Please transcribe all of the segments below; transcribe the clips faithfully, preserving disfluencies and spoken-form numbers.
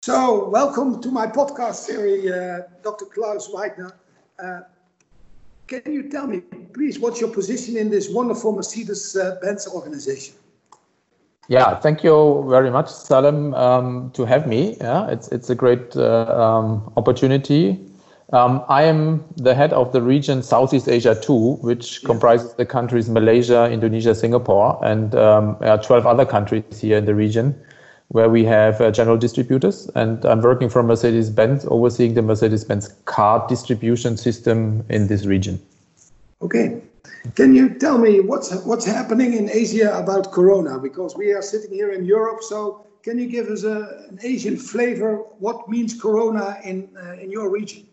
So, welcome to my podcast series, uh, Doctor Klaus Weidner. Uh, can you tell me, please, what's your position in this wonderful Mercedes-Benz uh, organization? Yeah, thank you very much, Salem, um, to have me. Yeah, it's it's a great uh, um, opportunity. Um, I am the head of the region Southeast Asia two, which yeah. comprises the countries Malaysia, Indonesia, Singapore, and um, uh, twelve other countries here in the region, where we have uh, general distributors. And I'm working for Mercedes-Benz, overseeing the Mercedes-Benz car distribution system in this region. Okay. Can you tell me what's what's happening in Asia about Corona? Because we are sitting here in Europe, so can you give us a, an Asian flavor? What means Corona in uh, in your region?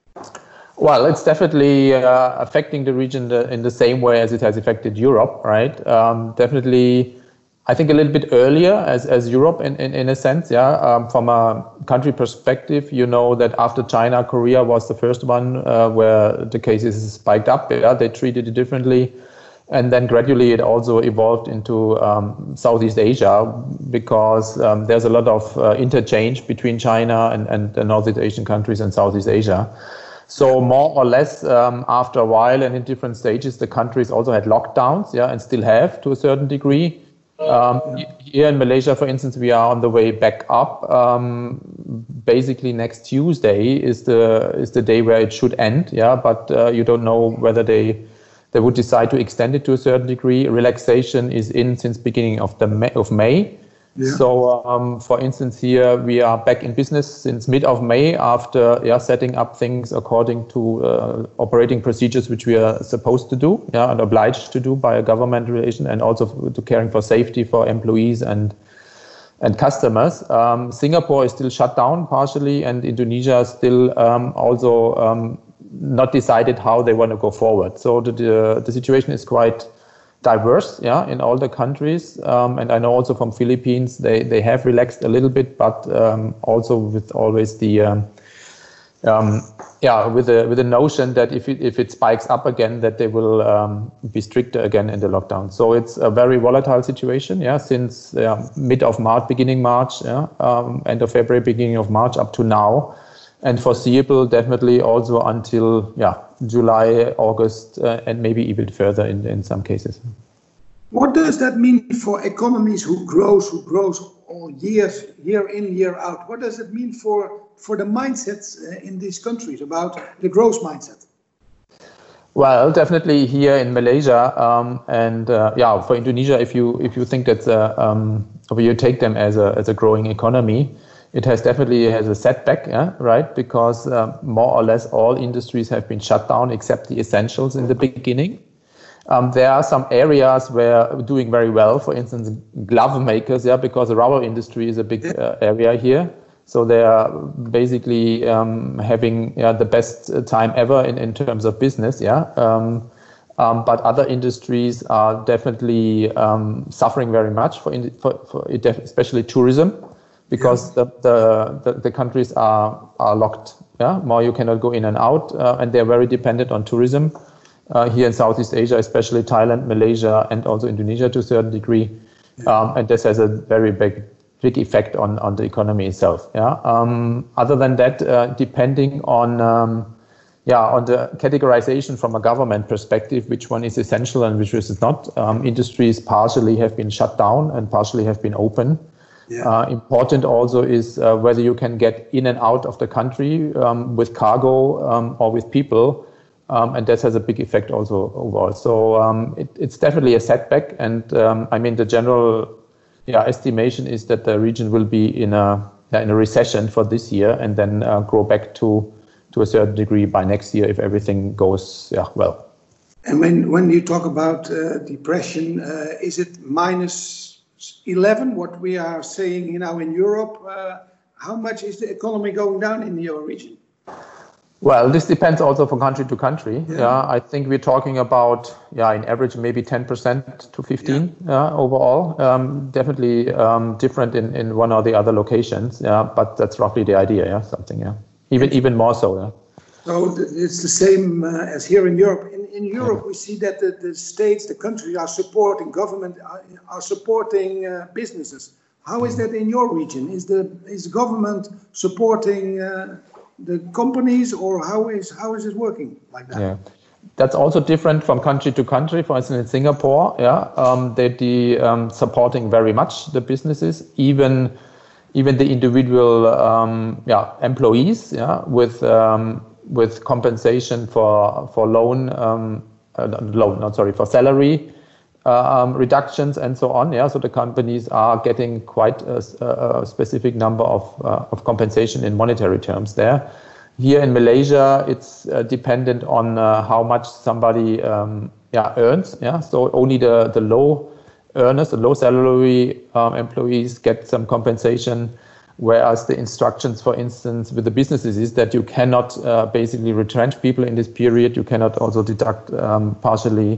Well, it's definitely uh, affecting the region the, in the same way as it has affected Europe, right? Um, definitely, I think a little bit earlier as, as Europe in, in, in a sense, yeah. Um, from a country perspective, you know that after China, Korea was the first one uh, where the cases spiked up. Yeah, they treated it differently. And then gradually it also evolved into um, Southeast Asia because um, there's a lot of uh, interchange between China and, and the Northeast Asian countries and Southeast Asia. So more or less um, after a while and in different stages, the countries also had lockdowns, yeah, and still have to a certain degree. Um, here in Malaysia, for instance, we are on the way back up. Um, basically, next Tuesday is the is the day where it should end. Yeah, but uh, you don't know whether they they would decide to extend it to a certain degree. Relaxation is in since beginning of the May, of May. Yeah. So, um, for instance, here we are back in business since mid of May after yeah, setting up things according to uh, operating procedures which we are supposed to do, yeah, and obliged to do by a government relation, and also to caring for safety for employees and and customers. Um, Singapore is still shut down partially, and Indonesia still um, also um, not decided how they want to go forward. So the the, the situation is quite diverse, yeah, in all the countries, um, and I know also from Philippines they they have relaxed a little bit, but um, also with always the um, um, yeah with the with the notion that if it if it spikes up again, that they will um, be stricter again in the lockdown. So it's a very volatile situation, yeah, since yeah, mid of March, beginning March, yeah, um, end of February, beginning of March up to now, and foreseeable definitely also until yeah. July, August, uh, and maybe even further in, in some cases. What does that mean for economies who grows, who grows all years, year in, year out? What does it mean for, for the mindsets uh, in these countries about the growth mindset? Well, definitely here in Malaysia um, and uh, yeah, for Indonesia, if you if you think that uh, um, or you take them as a as a growing economy, it has definitely has a setback, yeah, right? Because uh, more or less all industries have been shut down except the essentials in the beginning. Um, there are some areas where we're doing very well. For instance, glove makers, yeah, because the rubber industry is a big uh, area here. So they are basically um, having yeah, the best time ever in, in terms of business, yeah. Um, um, but other industries are definitely um, suffering very much for, in, for, for it, especially tourism. Because yeah. the, the, the, the countries are, are locked, yeah, more you cannot go in and out, uh, and they're very dependent on tourism uh, here in Southeast Asia, especially Thailand, Malaysia, and also Indonesia to a certain degree, yeah. um, and this has a very big big effect on, on the economy itself. Yeah. Um, other than that, uh, depending on um, yeah on the categorization from a government perspective, which one is essential and which is not, um, industries partially have been shut down and partially have been open. Yeah. Uh, important also is uh, whether you can get in and out of the country um, with cargo um, or with people, um, and that has a big effect also overall. So um, it, it's definitely a setback, and um, I mean the general yeah, estimation is that the region will be in a yeah, in a recession for this year, and then uh, grow back to to a certain degree by next year if everything goes yeah well. And when when you talk about uh, depression, uh, is it minus eleven, what we are saying now in Europe? Uh, how much is the economy going down in your region? Well, this depends also from country to country. Yeah, yeah I think we're talking about, yeah, in average, maybe ten percent to fifteen yeah. Yeah, overall. Um, definitely um, different in, in one or the other locations. Yeah, but that's roughly the idea. Yeah, something. Yeah, even even more so. Yeah. So it's the same uh, as here in Europe. In, in Europe, yeah. we see that the, the states, the countries are supporting, government are, are supporting uh, businesses. How is that in your region? Is the is government supporting uh, the companies, or how is how is it working like that? Yeah. That's also different from country to country. For instance, in Singapore, yeah, um, they're the, um, supporting very much the businesses, even even the individual um, yeah, employees, yeah, with um, with compensation for for loan um, uh, loan, not sorry, for salary uh, um, reductions and so on. Yeah, so the companies are getting quite a, a specific number of uh, of compensation in monetary terms there. Here in Malaysia, it's uh, dependent on uh, how much somebody um, yeah, earns. Yeah, so only the, the low earners, the low salary um, employees get some compensation, whereas the instructions, for instance, with the businesses is that you cannot uh, basically retrench people in this period. You cannot also deduct um, partially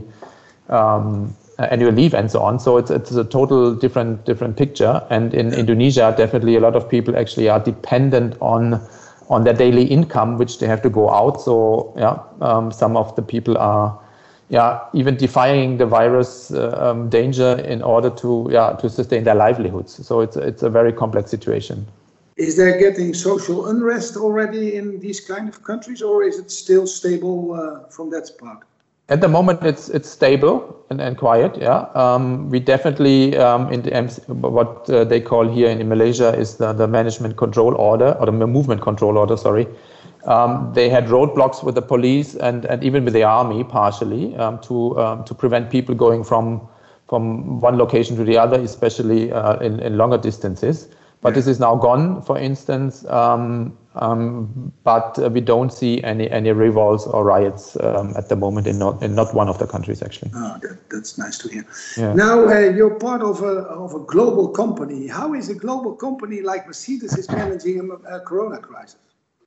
um, annual leave and so on. So it's it's a total different different picture. And in Indonesia, definitely a lot of people actually are dependent on on their daily income, which they have to go out. So yeah, um, some of the people are, yeah, even defying the virus uh, um, danger in order to, yeah, to sustain their livelihoods. So it's it's a very complex situation. Is there getting social unrest already in these kind of countries, or is it still stable uh, from that part? At the moment, it's it's stable and, and quiet. Yeah, um, we definitely um, in the M C, what uh, they call here in Malaysia is the, the management control order or the movement control order. Sorry, um, they had roadblocks with the police and, and even with the army partially um, to um, to prevent people going from from one location to the other, especially uh, in, in longer distances. But this is now gone, for instance. Um, um, but uh, we don't see any any revolts or riots um, at the moment in not in not one of the countries actually. Oh, that, that's nice to hear. Yeah. Now uh, you're part of a of a global company. How is a global company like Mercedes is managing a, a Corona crisis?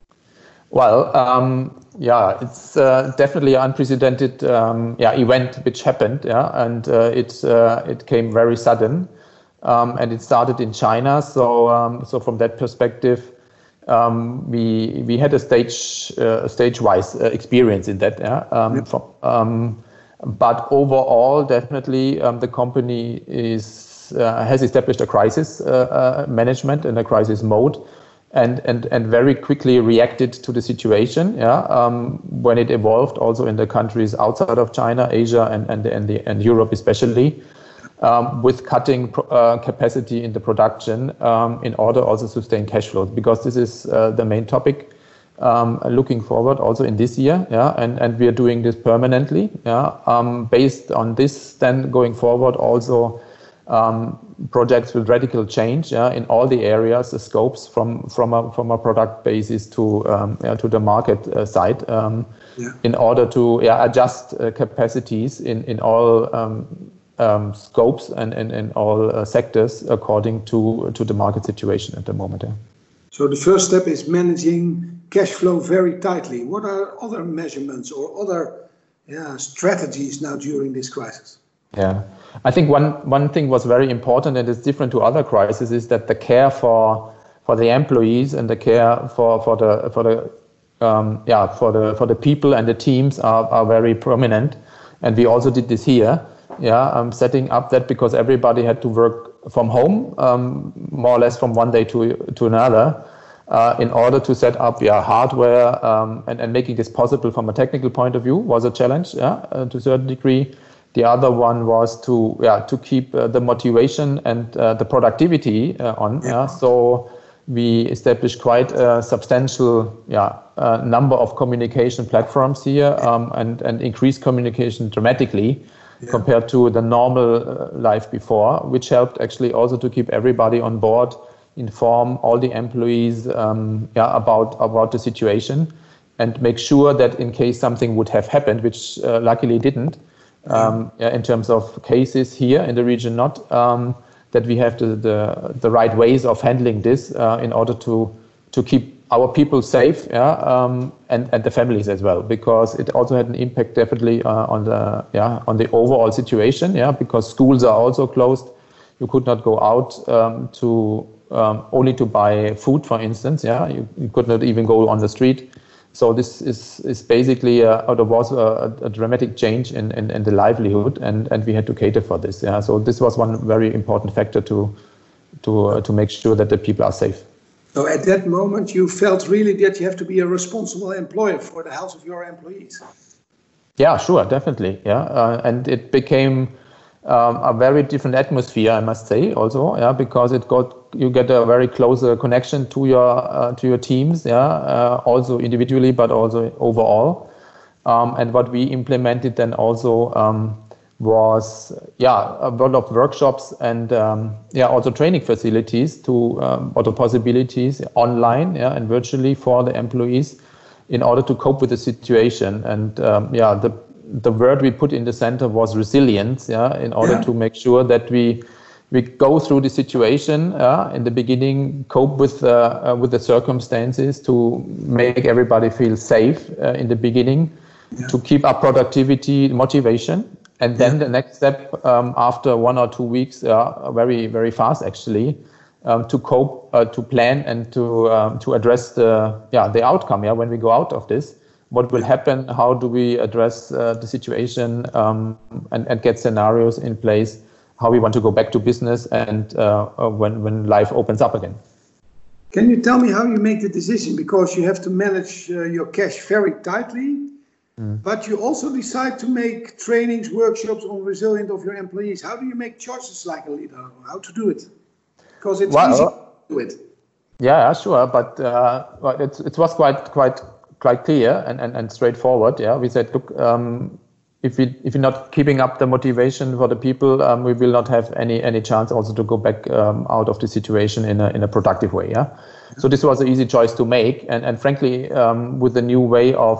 Well, um, yeah, it's uh, definitely an unprecedented um, yeah event which happened. Yeah, and uh, it uh, it came very sudden. Um, and it started in China, so um, so from that perspective, um, we we had a stage uh, stage-wise uh, experience in that. Yeah? Um, yep. from, um, but overall, definitely, um, the company is uh, has established a crisis uh, uh, management and a crisis mode, and and and very quickly reacted to the situation. Yeah, um, when it evolved, also in the countries outside of China, Asia, and and and, the, and Europe especially. Um, with cutting uh, capacity in the production um, in order also to sustain cash flows, because this is uh, the main topic um, looking forward also in this year, yeah, and, and we are doing this permanently, yeah. Um, based on this, then going forward also um, projects with radical change, yeah, in all the areas, the scopes from from a from a product basis to um, yeah, to the market uh, side, um, yeah. in order to yeah, adjust uh, capacities in in all. Um, Um, scopes and in, in all uh, sectors according to to the market situation at the moment. Yeah. So the first step is managing cash flow very tightly. What are other measurements or other yeah, strategies now during this crisis? Yeah, I think one one thing was very important and is different to other crises is that the care for for the employees and the care for for the for the um, yeah for the for the people and the teams are are very prominent, and we also did this here. Yeah, I'm setting up that because everybody had to work from home, um, more or less from one day to to another, uh, in order to set up yeah hardware um, and and making this possible from a technical point of view was a challenge, yeah, uh, to a certain degree. The other one was to yeah to keep uh, the motivation and uh, the productivity uh, on. Yeah. yeah, so we established quite a substantial yeah uh, number of communication platforms here um, and and increased communication dramatically. Yeah. Compared to the normal uh, life before, which helped actually also to keep everybody on board, inform all the employees um, yeah, about about the situation, and make sure that in case something would have happened, which uh, luckily didn't, um, yeah, in terms of cases here in the region, not um, that we have the, the the right ways of handling this uh, in order to to keep our people safe, yeah, um, and and the families as well, because it also had an impact definitely uh, on the yeah on the overall situation, yeah, because schools are also closed. You could not go out um, to um, only to buy food, for instance, yeah. You, you could not even go on the street. So this is is basically uh, or there was a, a dramatic change in, in in the livelihood, and and we had to cater for this, yeah. So this was one very important factor to to uh, to make sure that the people are safe. So at that moment, you felt really that you have to be a responsible employer for the health of your employees. Yeah, sure, definitely. Yeah, uh, and it became um, a very different atmosphere, I must say, also. Yeah, because it got you get a very close uh, connection to your uh, to your teams. Yeah, uh, also individually, but also overall. Um, and what we implemented then also um, was yeah a lot of workshops and um, yeah also training facilities to um, other possibilities online yeah and virtually for the employees in order to cope with the situation. And um, yeah the the word we put in the center was resilience. Yeah, in order yeah. to make sure that we we go through the situation uh, in the beginning, cope with uh, uh, with the circumstances to make everybody feel safe uh, in the beginning. Yeah. To keep up productivity, motivation, and then yeah. the next step um, after one or two weeks, uh, very very fast actually, um, to cope, uh, to plan, and to um, to address the yeah the outcome. Yeah, when we go out of this, what will happen? How do we address uh, the situation um, and and get scenarios in place? How we want to go back to business and uh, when when life opens up again. Can you tell me how you make the decision? Because you have to manage uh, your cash very tightly. But you also decide to make trainings, workshops on resilience of your employees. How do you make choices like a leader? How to do it? Because it's well, easy to do it. Yeah, sure. But uh, it, it was quite quite quite clear and, and, and straightforward. Yeah, we said, look, um, if we if we're not keeping up the motivation for the people, um, we will not have any any chance also to go back um, out of the situation in a in a productive way. Yeah. So this was an easy choice to make, and and frankly, um, with the new way of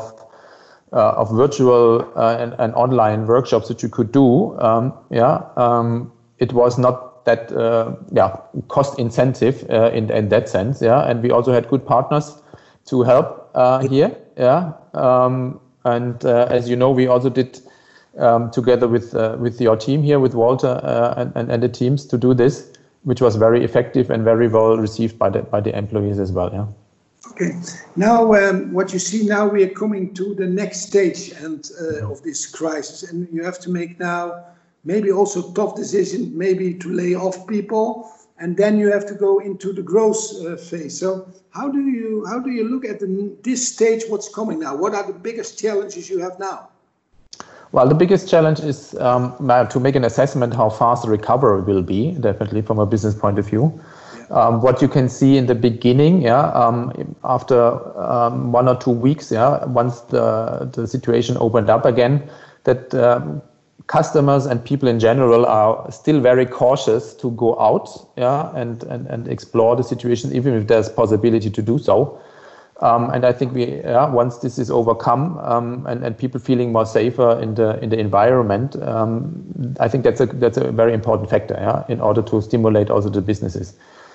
Uh, of virtual uh, and, and online workshops that you could do, um, yeah, um, it was not that uh, yeah cost incentive uh, in in that sense, yeah, and we also had good partners to help uh, here, yeah, um, and uh, as you know, we also did um, together with uh, with your team here, with Walter uh, and, and and the teams to do this, which was very effective and very well received by the by the employees as well, yeah. Okay, now um, what you see now, we are coming to the next stage and uh, of this crisis, and you have to make now maybe also tough decisions, maybe to lay off people, and then you have to go into the growth uh, phase. So how do you how do you look at the, this stage? What's coming now? What are the biggest challenges you have now? Well, the biggest challenge is um, to make an assessment how fast the recovery will be, definitely from a business point of view. Um, what you can see in the beginning, yeah, um, after um, one or two weeks, yeah, once the the situation opened up again, that um, customers and people in general are still very cautious to go out, yeah, and and and explore the situation, even if there's possibility to do so. Um, and I think we, yeah, once this is overcome, um, and and people feeling more safer in the in the environment, um, I think that's a that's a very important factor, yeah, in order to stimulate also the businesses.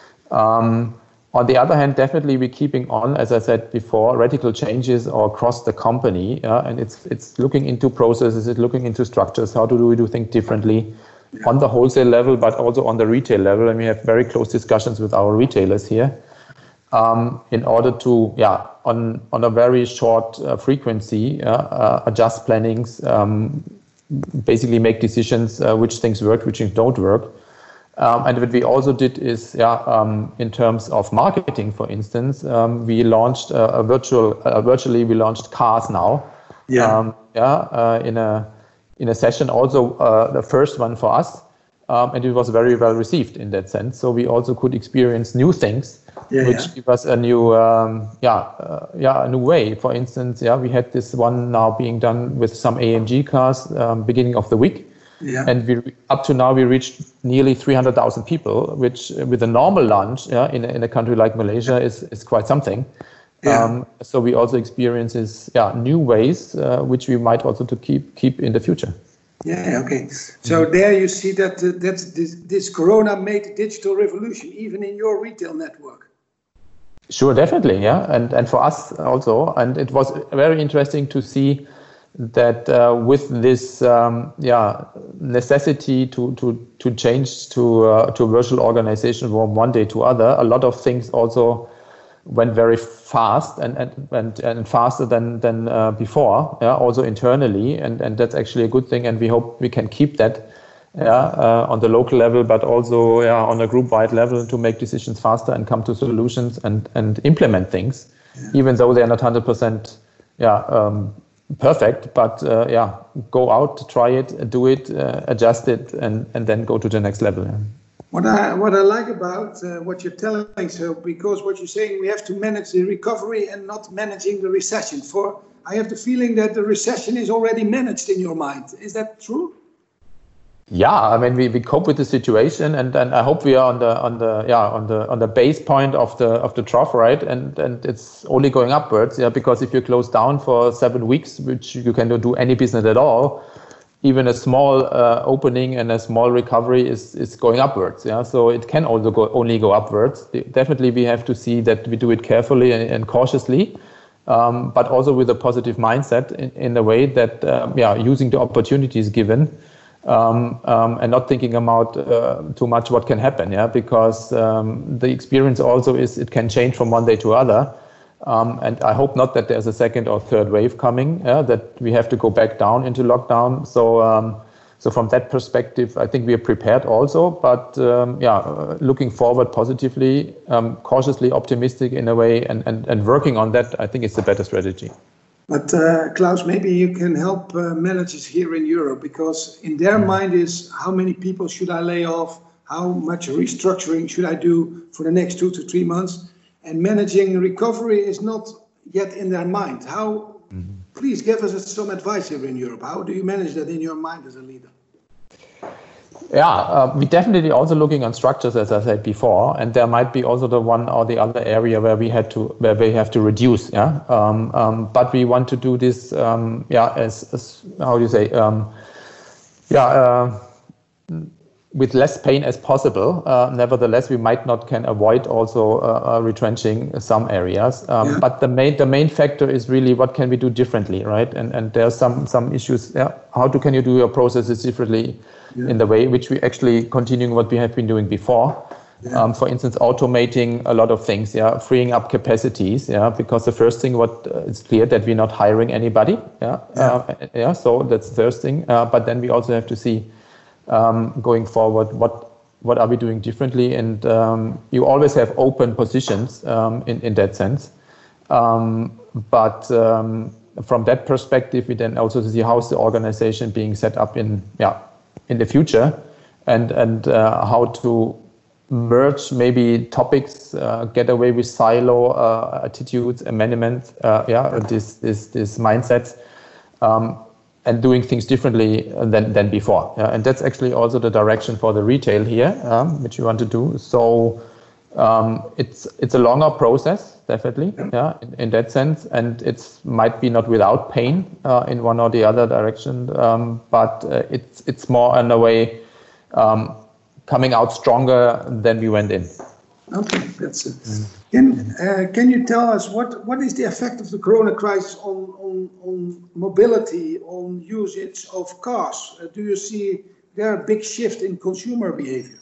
Um, on the other hand, definitely we're keeping on, as I said before, radical changes across the company, yeah, and it's it's looking into processes, it's looking into structures. How do we do things differently yeah. on the wholesale level, but also on the retail level? And we have very close discussions with our retailers here um, in order to, yeah, on on a very short uh, frequency, uh, uh, adjust plannings, um, basically make decisions uh, which things work, which things don't work. Um, and what we also did is, yeah, um, in terms of marketing, for instance, um, we launched a, a virtual, uh, virtually we launched Cars Now, yeah, um, yeah, uh, in a in a session, also uh, the first one for us, um, and it was very well received in that sense. So we also could experience new things, yeah, which yeah. give us a new, um, yeah, uh, yeah, a new way. For instance, yeah, we had this one now being done with some A M G cars um, beginning of the week. Yeah. And we up to now we reached nearly three hundred thousand people, which with a normal launch, yeah, in a, in a country like Malaysia is is quite something. Yeah. Um, so we also experiences, yeah, new ways uh, which we might also to keep keep in the future. Yeah. Okay. So mm-hmm. there you see that uh, that's this, this Corona made a digital revolution even in your retail network. Sure, definitely, yeah, and and for us also, and it was very interesting to see that uh, with this um, yeah necessity to to to change to uh, to a virtual organization from one day to other, a lot of things also went very fast and and and, and faster than than uh, before, yeah, also internally, and and that's actually a good thing, and we hope we can keep that yeah, uh, on the local level, but also yeah, on a group-wide level to make decisions faster and come to solutions and, and implement things, yeah. even though they're not one hundred percent yeah, um, perfect. But uh, yeah, go out, try it, do it, uh, adjust it, and, and then go to the next level. Yeah. What I what I like about uh, what you're telling, so because what you're saying, we have to manage the recovery and not managing the recession. For I have the feeling that the recession is already managed in your mind. Is that true? Yeah, I mean we, we cope with the situation, and, and I hope we are on the on the yeah on the on the base point of the of the trough, right? And and it's only going upwards, yeah. Because if you close down for seven weeks, which you cannot do any business at all, even a small uh, opening and a small recovery is is going upwards, yeah. So it can also go only go upwards. Definitely, we have to see that we do it carefully and, and cautiously, um, but also with a positive mindset in, in a way that um, yeah, using the opportunities given. Um, um, and not thinking about uh, too much what can happen, yeah, because um, the experience also is it can change from one day to other, um, and I hope not that there's a second or third wave coming, yeah, that we have to go back down into lockdown. So, um, so from that perspective, I think we are prepared also, but um, yeah, uh, looking forward positively, um, cautiously optimistic in a way, and, and, and working on that, I think it's the better strategy. But uh, Klaus, maybe you can help uh, managers here in Europe, because in their mind is how many people should I lay off? How much restructuring should I do for the next two to three months? And managing recovery is not yet in their mind. How? Mm-hmm. Please give us some advice here in Europe. How do you manage that in your mind as a leader? Yeah, uh, we're definitely also looking on structures, as I said before, and there might be also the one or the other area where we had to, where we have to reduce. Yeah, um, um, but we want to do this. Um, yeah, as, as how do you say? Um, yeah, uh, with less pain as possible. Uh, nevertheless, we might not can avoid also uh, uh, retrenching some areas. Um, yeah. But the main the main factor is really what can we do differently, right? And and there are some some issues. Yeah, how do can you do your processes differently? Yeah. In the way which we actually continuing what we have been doing before. Yeah. Um, for instance, automating a lot of things, yeah, freeing up capacities, yeah, because the first thing what uh, it's clear that we're not hiring anybody, yeah, yeah, uh, yeah so that's the first thing. Uh, but then we also have to see um, going forward what what are we doing differently, and um, you always have open positions um, in in that sense, um, but. Um, from that perspective, we then also see how's the organization being set up in yeah. in the future, and and uh, how to merge maybe topics, uh, get away with silo uh, attitudes, amendments, uh, yeah, this this this mindsets, um, and doing things differently than than before. Yeah? And that's actually also the direction for the retail here, um, which we want to do. So um, it's it's a longer process, definitely, yeah, in, in that sense, and it's might be not without pain uh, in one or the other direction, um, but uh, it's it's more in a way um, coming out stronger than we went in. Okay, that's it. Mm. Can uh, can you tell us what what is the effect of the Corona crisis on on on mobility, on usage of cars? Uh, do you see there a big shift in consumer behavior?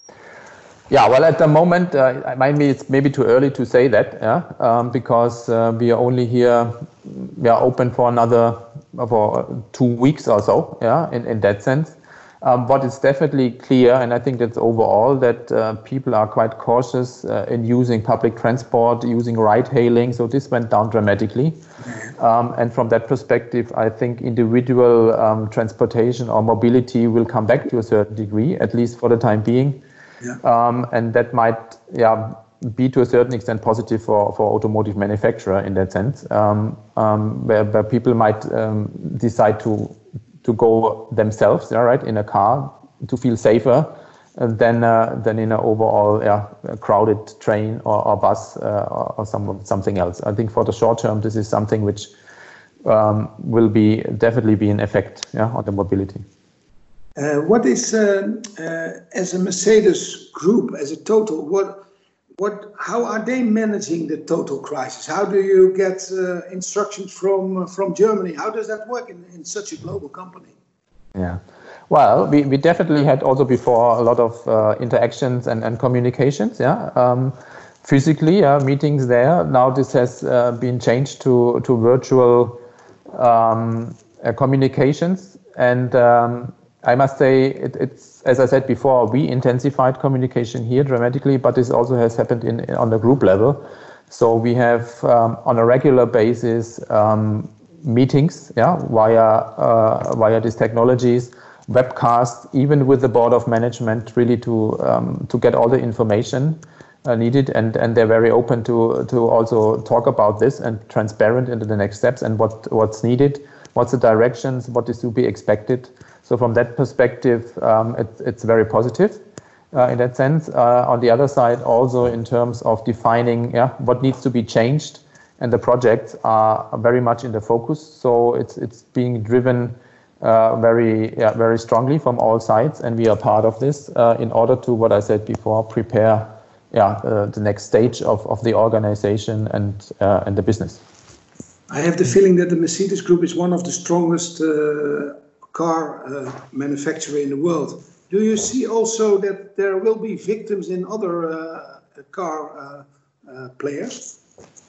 Yeah, well, at the moment, uh, maybe it's maybe too early to say that, yeah, um, because uh, we are only here, we are open for another for two weeks or so, yeah, in, in that sense. Um, but it's definitely clear, and I think that's overall, that uh, people are quite cautious uh, in using public transport, using ride-hailing. So this went down dramatically. Um, and from that perspective, I think individual um, transportation or mobility will come back to a certain degree, at least for the time being. Yeah. Um, and that might, yeah, be to a certain extent positive for, for automotive manufacturer in that sense, um, um, where, where people might um, decide to to go themselves, yeah, right, in a car to feel safer than uh, than in an overall, yeah, crowded train or, or bus uh, or, or some something else. I think for the short term, this is something which um, will be definitely be an effect, yeah, on the mobility. Uh, what is, uh, uh, as a Mercedes group, as a total, what, what, how are they managing the total crisis? How do you get uh, instructions from uh, from Germany? How does that work in, in such a global company? Yeah, well, we, we definitely had also before a lot of uh, interactions and, and communications, yeah, um, physically, uh, meetings there. Now this has uh, been changed to, to virtual um, uh, communications, and um, I must say, it, it's, as I said before, we intensified communication here dramatically, but this also has happened in, in on the group level. So we have um, on a regular basis um, meetings, yeah, via uh, via these technologies, webcasts, even with the board of management, really to um, to get all the information uh, needed, and and they're very open to to also talk about this and transparent into the next steps and what what's needed, what's the directions, what is to be expected. So from that perspective, um, it, it's very positive uh, in that sense. Uh, on the other side, also in terms of defining yeah, what needs to be changed, and the projects are very much in the focus. So it's it's being driven uh, very yeah, very strongly from all sides, and we are part of this uh, in order to, what I said before, prepare yeah, uh, the next stage of, of the organization and uh, and the business. I have the feeling that the Mercedes Group is one of the strongest uh, car uh, manufacturer in the world. Do you see also that there will be victims in other uh, car uh, uh, players?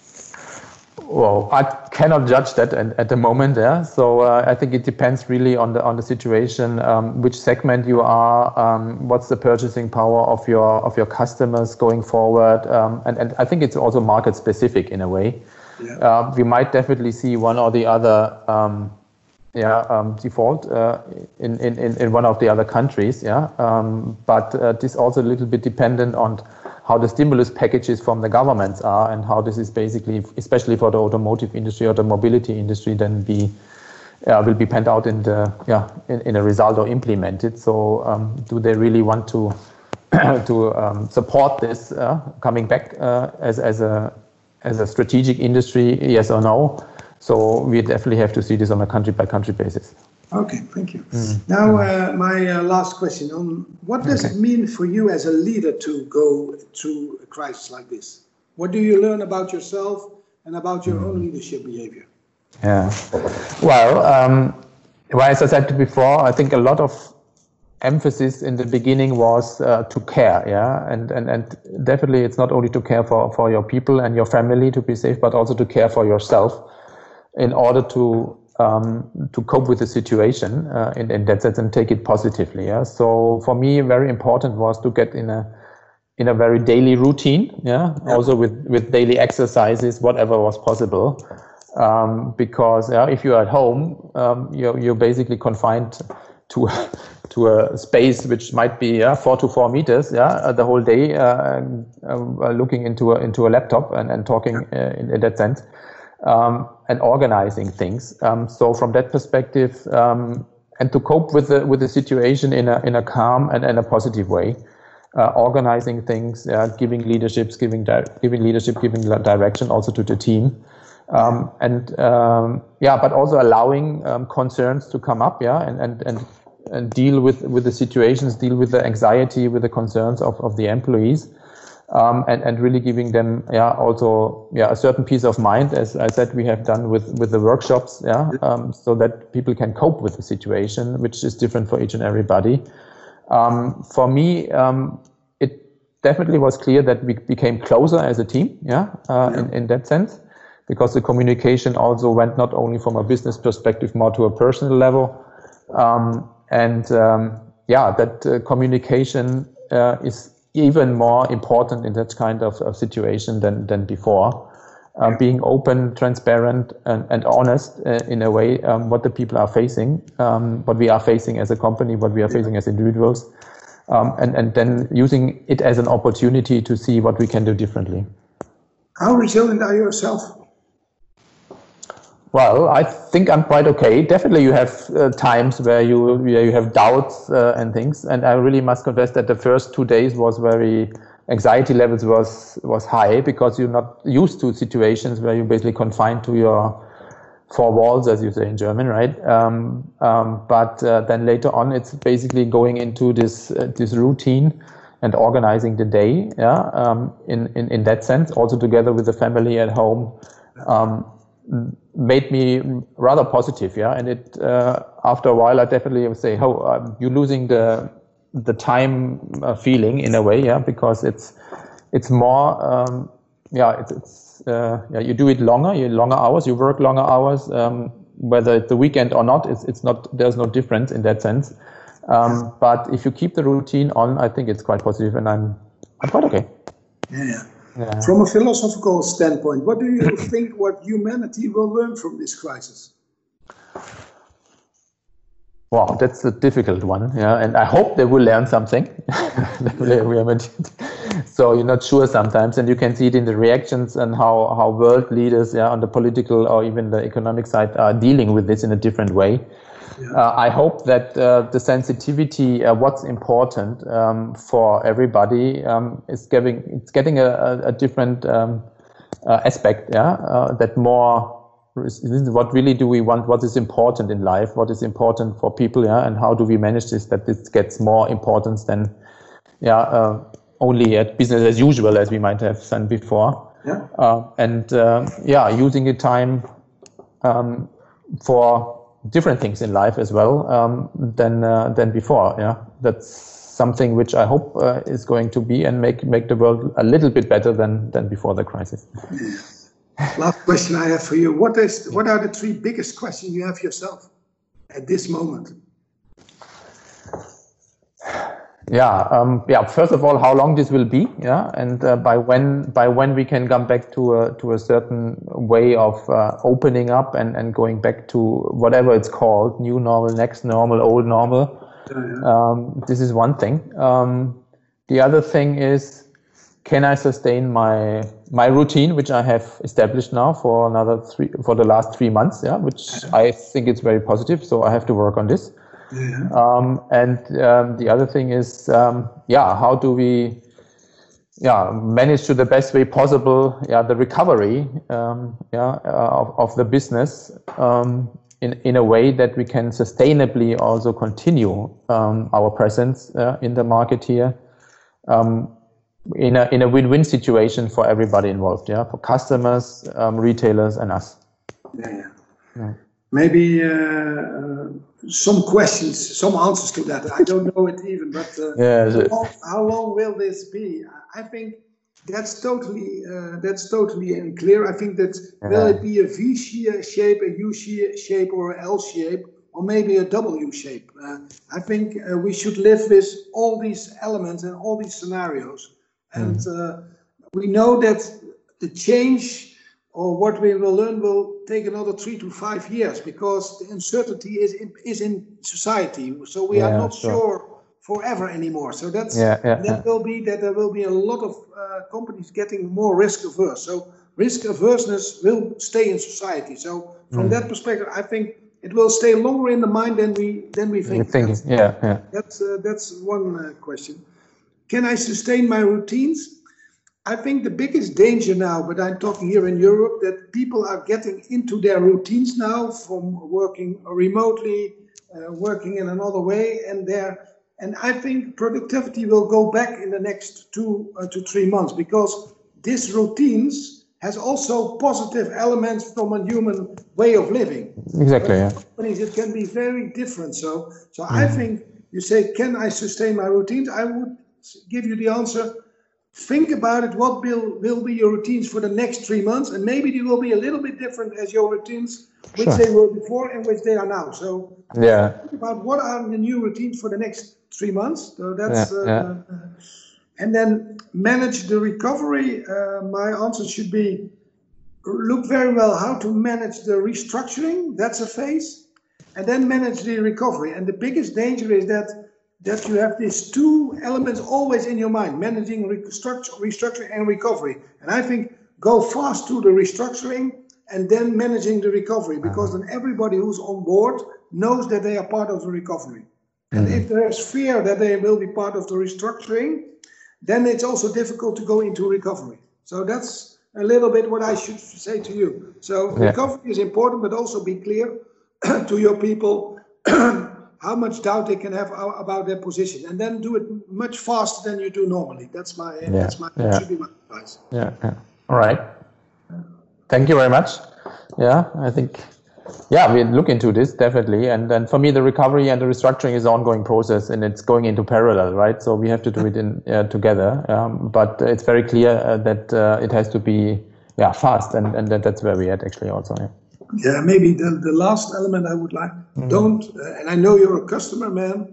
Well, I cannot judge that at, at the moment. Yeah, so uh, I think it depends really on the on the situation, um, which segment you are, um, what's the purchasing power of your of your customers going forward, um, and and I think it's also market specific in a way. Yeah. Uh, we might definitely see one or the other. Um, Yeah, um, default uh, in, in, in one of the other countries, yeah. Um, but uh, this also a little bit dependent on how the stimulus packages from the governments are and how this is basically, especially for the automotive industry or the mobility industry, then be uh, will be panned out in the yeah in, in a result or implemented. So um, do they really want to to um, support this uh, coming back uh, as as a as a strategic industry? Yes or no? So we definitely have to see this on a country-by-country basis. Okay, thank you. Mm. Now, uh, my uh, last question on what does okay. it mean for you as a leader to go through a crisis like this? What do you learn about yourself and about your mm. own leadership behavior? Yeah, well, um, well, as I said before, I think a lot of emphasis in the beginning was uh, to care, yeah, and, and and definitely it's not only to care for, for your people and your family to be safe, but also to care for yourself, in order to um, to cope with the situation uh, in, in that sense and take it positively. Yeah. So for me, very important was to get in a in a very daily routine. Yeah. yeah. Also with with daily exercises, whatever was possible, um, because yeah, if you're at home, um, you're you're basically confined to to a space which might be yeah, four to four meters. Yeah, the whole day uh, uh, looking into a into a laptop and and talking uh, in, in that sense. Um, and organizing things. Um, so from that perspective, um, and to cope with the with the situation in a in a calm and in a positive way, uh, organizing things, uh, giving leaderships, giving di giving leadership, giving direction also to the team, um, and um, yeah, but also allowing um, concerns to come up, yeah, and and and and deal with with the situations, deal with the anxiety, with the concerns of of the employees. Um, and, and really giving them, yeah, also, yeah, a certain peace of mind, as I said, we have done with, with the workshops, yeah, um, so that people can cope with the situation, which is different for each and everybody. Um, for me, um, it definitely was clear that we became closer as a team, yeah, uh, yeah. In, in that sense, because the communication also went not only from a business perspective, more to a personal level. Um, and, um, yeah, that uh, communication uh, is even more important in that kind of, of situation than, than before. Uh, being open, transparent, and, and honest uh, in a way, um, what the people are facing, um, what we are facing as a company, what we are facing as individuals, um, and, and then using it as an opportunity to see what we can do differently. How resilient are you yourself? Well, I think I'm quite okay. Definitely you have uh, times where you where you have doubts uh, and things. And I really must confess that the first two days was very, anxiety levels was was high, because you're not used to situations where you're basically confined to your four walls, as you say in German, right? Um, um, but uh, then later on, it's basically going into this uh, this routine and organizing the day, yeah, um, in, in, in that sense, also together with the family at home. Um, made me rather positive, yeah, and it uh, after a while I definitely would say, oh, um, you're losing the the time uh, feeling in a way, yeah, because it's it's more, um, yeah, it's, it's uh, yeah, you do it longer, you longer hours, you work longer hours, um, whether it's the weekend or not, it's it's not, there's no difference in that sense. Um, but if you keep the routine on, I think it's quite positive, and I'm I'm quite okay. Yeah, yeah. Yeah. From a philosophical standpoint, what do you think what humanity will learn from this crisis? Wow, that's a difficult one. Yeah, and I hope they will learn something. So you're not sure sometimes, and you can see it in the reactions and how, how world leaders, yeah, on the political or even the economic side, are dealing with this in a different way. Yeah. Uh, I hope that uh, the sensitivity, uh, what's important um, for everybody, um, is getting it's getting a, a, a different um, uh, aspect. Yeah, uh, that more. This is what really do we want? What is important in life? What is important for people? Yeah, and how do we manage this? That this gets more importance than, yeah, uh, only at business as usual as we might have done before. Yeah. Uh, and uh, yeah, using the time um, for different things in life as well um, than uh, than before. Yeah, that's something which I hope uh, is going to be and make make the world a little bit better than than before the crisis. Last question I have for you. What is what are the three biggest questions you have yourself at this moment? Yeah, um, yeah. First of all, how long this will be, yeah, and uh, by when by when we can come back to a to a certain way of uh, opening up and and going back to whatever it's called, new normal, next normal, old normal. Yeah, yeah. Um, this is one thing. Um, the other thing is, can I sustain my my routine, which I have established now for another three for the last three months? Yeah, which I think it's very positive. So I have to work on this. Yeah. Um, and um, the other thing is, um, yeah, how do we, yeah, manage to the best way possible, yeah, the recovery, um, yeah, uh, of, of the business um, in in a way that we can sustainably also continue um, our presence uh, in the market here. Um, in a in a win-win situation for everybody involved, yeah, for customers, um, retailers, and us. Yeah, yeah. yeah. Maybe uh, uh, some questions, some answers to that. I don't know it even, but uh, yeah, how, long, how long will this be? I think that's totally uh, that's totally unclear. I think that yeah. will it be a V shape, a U shape, or an L shape, or maybe a W shape? Uh, I think uh, we should live with all these elements and all these scenarios. And uh, we know that the change or what we will learn will take another three to five years because the uncertainty is in, is in society. So we yeah, are not sure. sure forever anymore. So that's yeah, yeah, that yeah. will be that there will be a lot of uh, companies getting more risk averse. So risk averseness will stay in society. So from mm. that perspective, I think it will stay longer in the mind than we than we think. That's, yeah, yeah. That's uh, that's one uh, question. Can I sustain my routines? I think the biggest danger now, but I'm talking here in Europe, that people are getting into their routines now from working remotely, uh, working in another way, and there. And I think productivity will go back in the next two uh, to three months because this routines has also positive elements from a human way of living. Exactly. Yeah. Companies, it can be very different. So, so mm. I think you say, can I sustain my routines? I would give you the answer. Think about it. What will, will be your routines for the next three months? And maybe they will be a little bit different as your routines, which sure. they were before and which they are now. So yeah. think about what are the new routines for the next three months. So that's, yeah, yeah. Uh, and then manage the recovery. Uh, my answer should be look very well how to manage the restructuring. That's a phase. And then manage the recovery. And the biggest danger is that that you have these two elements always in your mind, managing restructure, restructuring and recovery. And I think go fast to the restructuring and then managing the recovery, because then everybody who's on board knows that they are part of the recovery. And mm-hmm. if there's fear that they will be part of the restructuring, then it's also difficult to go into recovery. So that's a little bit what I should say to you. So yeah. recovery is important, but also be clear to your people how much doubt they can have about their position, and then do it much faster than you do normally. That's my, yeah, that's my, yeah. should be my advice. Yeah, yeah. All right. Thank you very much. Yeah, I think, yeah, we look into this definitely. And then for me, the recovery and the restructuring is an ongoing process, and it's going into parallel, right? So we have to do it in uh, together. Um, but it's very clear uh, that uh, it has to be, yeah, fast, and and that, that's where we at actually also. Yeah. Yeah, maybe the, the last element I would like, mm-hmm. don't, uh, and I know you're a customer man,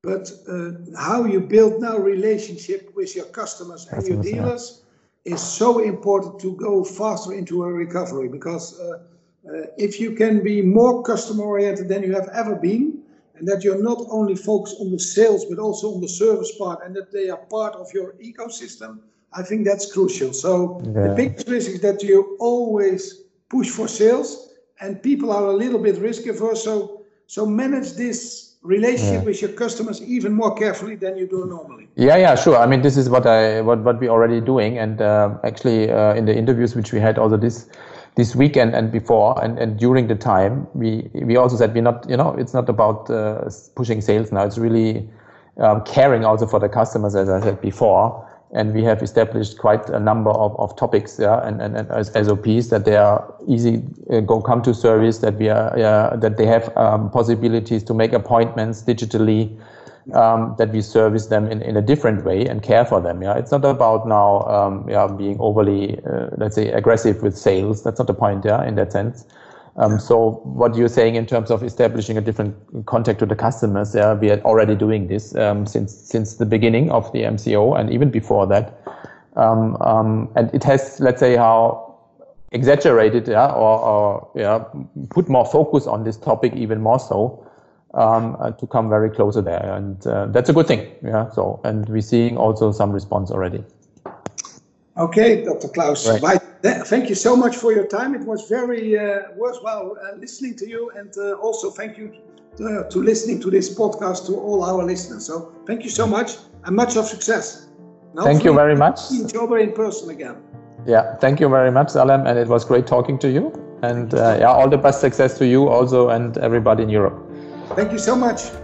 but uh, how you build now relationship with your customers and your dealers yeah. is so important to go faster into a recovery, because uh, uh, if you can be more customer oriented than you have ever been, and that you're not only focused on the sales but also on the service part, and that they are part of your ecosystem, I think that's crucial. So yeah. the biggest risk is that you always push for sales and people are a little bit risk averse, so so manage this relationship yeah. with your customers even more carefully than you do normally. Yeah, yeah, sure. I mean, this is what I what what we're already doing, and uh, actually uh, in the interviews which we had also this this weekend and before and, and during the time, we we also said we're not, you know, it's not about uh, pushing sales now. It's really um, caring also for the customers, as I said before. And we have established quite a number of, of topics, yeah, and, and, and as S O Ps that they are easy uh, go come to service, that we are uh, that they have um, possibilities to make appointments digitally, um, that we service them in, in a different way and care for them. Yeah, it's not about now um, yeah being overly uh, let's say aggressive with sales. That's not the point. Yeah, in that sense. Um, so what you're saying in terms of establishing a different contact to the customers, yeah, we are already doing this um, since since the beginning of the M C O and even before that. Um, um, and it has, let's say, how exaggerated, yeah, or, or yeah, put more focus on this topic even more so um, uh, to come very closer there, and uh, that's a good thing. Yeah. So, and we're seeing also some response already. Okay, Doctor Klaus, right. Thank you so much for your time. It was very uh, worthwhile uh, listening to you, and uh, also thank you to, to listening to this podcast to all our listeners. So thank you so much, and much of success. Now, thank you very much. See each other in person again. Yeah, thank you very much, Salem, and it was great talking to you. And uh, yeah, all the best success to you also and everybody in Europe. Thank you so much.